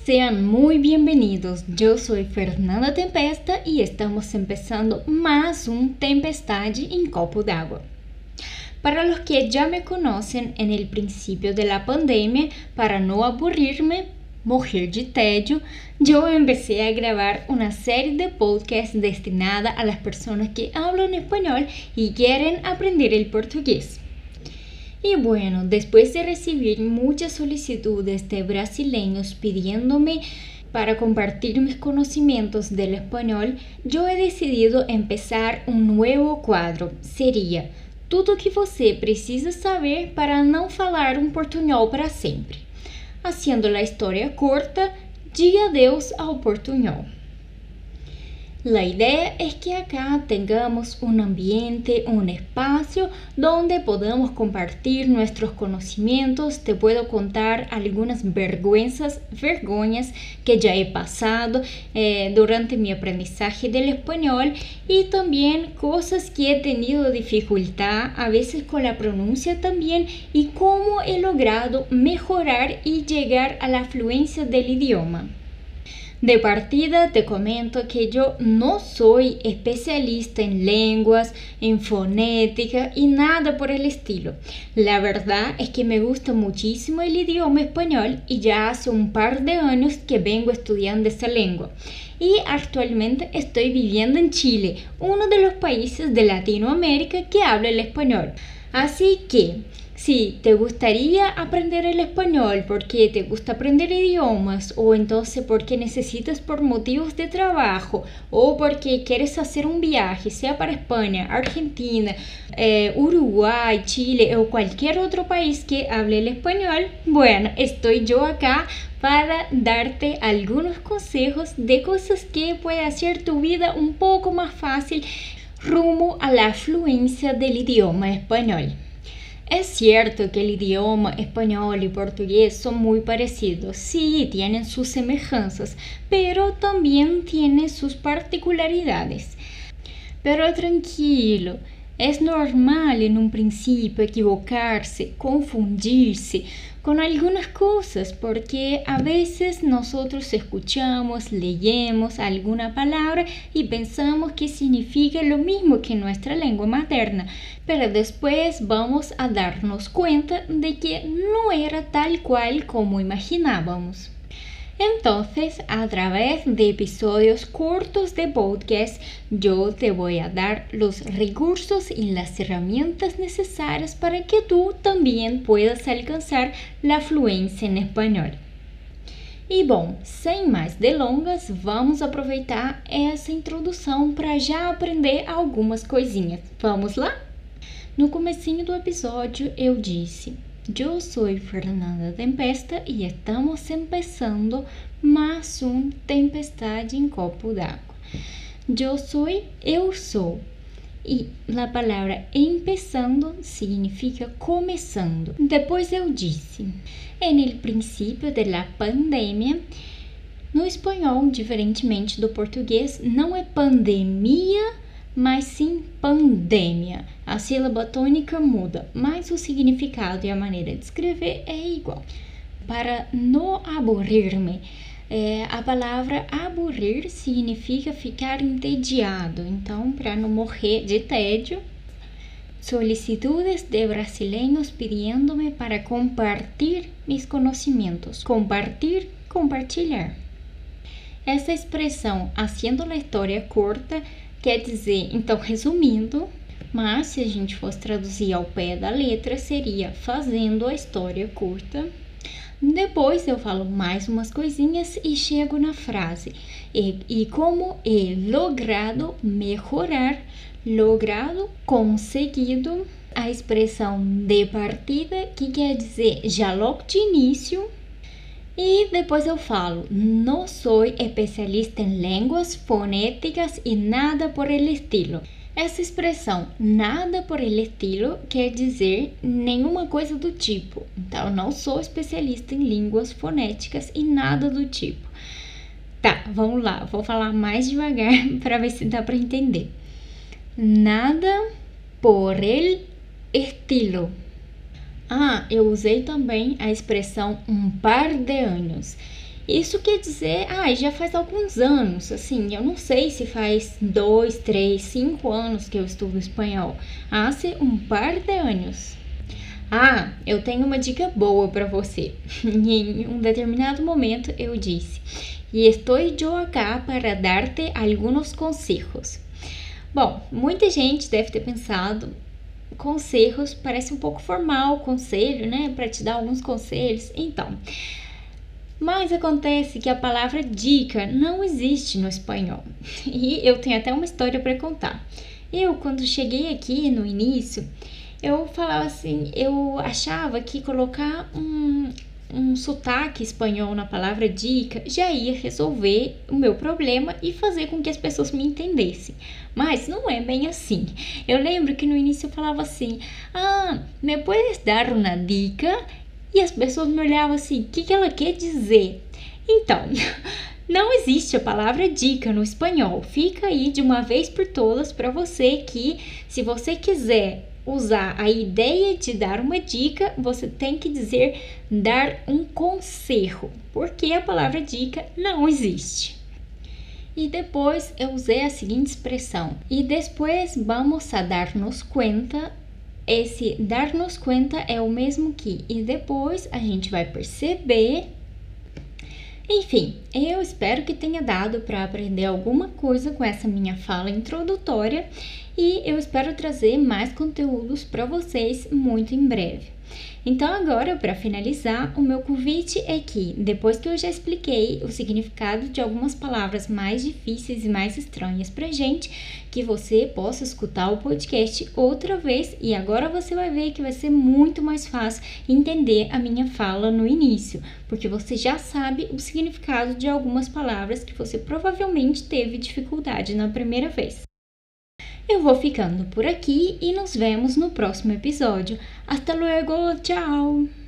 Sean muy bienvenidos, yo soy Fernanda Tempesta y estamos empezando más un Tempestade en Copo d'Água. Para los que ya me conocen, en el principio de la pandemia, para no aburrirme, morrer de tédio, yo empecé a grabar una serie de podcasts destinada a las personas que hablan español y quieren aprender el portugués. Y bueno, después de recibir muchas solicitudes de brasileños pidiéndome para compartir mis conocimientos del español, yo he decidido empezar un nuevo quadro. Seria tudo o que você precisa saber para não falar um portunhol para sempre. Haciendo la historia corta, diga adeus ao portunhol. La idea es que acá tengamos un ambiente, un espacio donde podamos compartir nuestros conocimientos. Te puedo contar algunas vergüenzas que ya he pasado durante mi aprendizaje del español y también cosas que he tenido dificultad a veces con la pronuncia también y cómo he logrado mejorar y llegar a la fluencia del idioma. De partida te comento que yo no soy especialista en lenguas, en fonética y nada por el estilo. La verdad es que me gusta muchísimo el idioma español y ya hace un par de años que vengo estudiando esa lengua. Y actualmente estoy viviendo en Chile, uno de los países de Latinoamérica que habla el español. Así que, si te gustaría aprender el español porque te gusta aprender idiomas o entonces porque necesitas por motivos de trabajo o porque quieres hacer un viaje, sea para España, Argentina, Uruguay, Chile o cualquier otro país que hable el español, bueno, estoy yo acá para darte algunos consejos de cosas que puede hacer tu vida un poco más fácil rumbo a la fluencia del idioma español. Es cierto que el idioma español y portugués son muy parecidos, sí, tienen sus semejanzas, pero también tienen sus particularidades. Pero tranquilo, es normal en un principio equivocarse, confundirse con algunas cosas, porque a veces nosotros escuchamos, leemos alguna palabra y pensamos que significa lo mismo que nuestra lengua materna, pero después vamos a darnos cuenta de que no era tal cual como imaginábamos. Entonces, a través de episodios cortos de podcast, yo te voy a dar los recursos y las herramientas necesarias para que tú también puedas alcanzar la fluência en español. E bom, sem mais delongas, vamos aproveitar essa introdução para já aprender algumas coisinhas. Vamos lá? No comecinho do episódio eu disse: yo soy Fernanda Tempesta y estamos empezando más un Tempestade en Copo d'Água. Eu sou. E a palavra empezando significa começando. Depois eu disse, en el princípio de la pandemia, no espanhol, diferentemente do português, não é pandemia, mas sim pandemia. A sílaba tônica muda, mas o significado e a maneira de escrever é igual. Para não aburrir-me, a palavra aburrir significa ficar entediado. Então, para não morrer de tédio, solicitudes de brasileños pidiéndome para compartir mis conhecimentos. Compartilhar. Essa expressão, haciendo la história corta, quer dizer, então, resumindo, mas se a gente fosse traduzir ao pé da letra, seria fazendo a história curta. Depois eu falo mais umas coisinhas e chego na frase. E como he logrado mejorar, conseguido, a expressão de partida, que quer dizer já logo de início. E depois eu falo, não sou especialista em línguas fonéticas e nada por el estilo. Essa expressão, nada por el estilo, quer dizer nenhuma coisa do tipo. Então, não sou especialista em línguas fonéticas e nada do tipo. Tá, vamos lá, vou falar mais devagar para ver se dá para entender. Nada por el estilo. Eu usei também a expressão um par de anos. Isso quer dizer, já faz alguns anos, assim, eu não sei se faz 2, 3, 5 anos que eu estudo espanhol. Hace um par de anos. Eu tenho uma dica boa para você. Em um determinado momento eu disse: "E estou eu acá para dar-te alguns conselhos." Bom, muita gente deve ter pensado, conselhos parece um pouco formal, conselho, né? Para te dar alguns conselhos. Então, mas acontece que a palavra dica não existe no espanhol. E eu tenho até uma história para contar. Eu, quando cheguei aqui no início, eu falava assim, eu achava que colocar um sotaque espanhol na palavra dica já ia resolver o meu problema e fazer com que as pessoas me entendessem. Mas não é bem assim. Eu lembro que no início eu falava assim: ¿me puedes dar uma dica? E as pessoas me olhavam assim: o que ela quer dizer? Então, não existe a palavra dica no espanhol. Fica aí de uma vez por todas para você que, se você quiser usar a ideia de dar uma dica, você tem que dizer dar um conselho, porque a palavra dica não existe. E depois eu usei a seguinte expressão: e depois vamos a darnos cuenta. Esse dar-nos conta é o mesmo que e depois a gente vai perceber. Enfim, eu espero que tenha dado para aprender alguma coisa com essa minha fala introdutória e eu espero trazer mais conteúdos para vocês muito em breve. Então agora, para finalizar, o meu convite é que, depois que eu já expliquei o significado de algumas palavras mais difíceis e mais estranhas pra gente, que você possa escutar o podcast outra vez e agora você vai ver que vai ser muito mais fácil entender a minha fala no início, porque você já sabe o significado de algumas palavras que você provavelmente teve dificuldade na primeira vez. Eu vou ficando por aqui e nos vemos no próximo episódio. Hasta luego, tchau!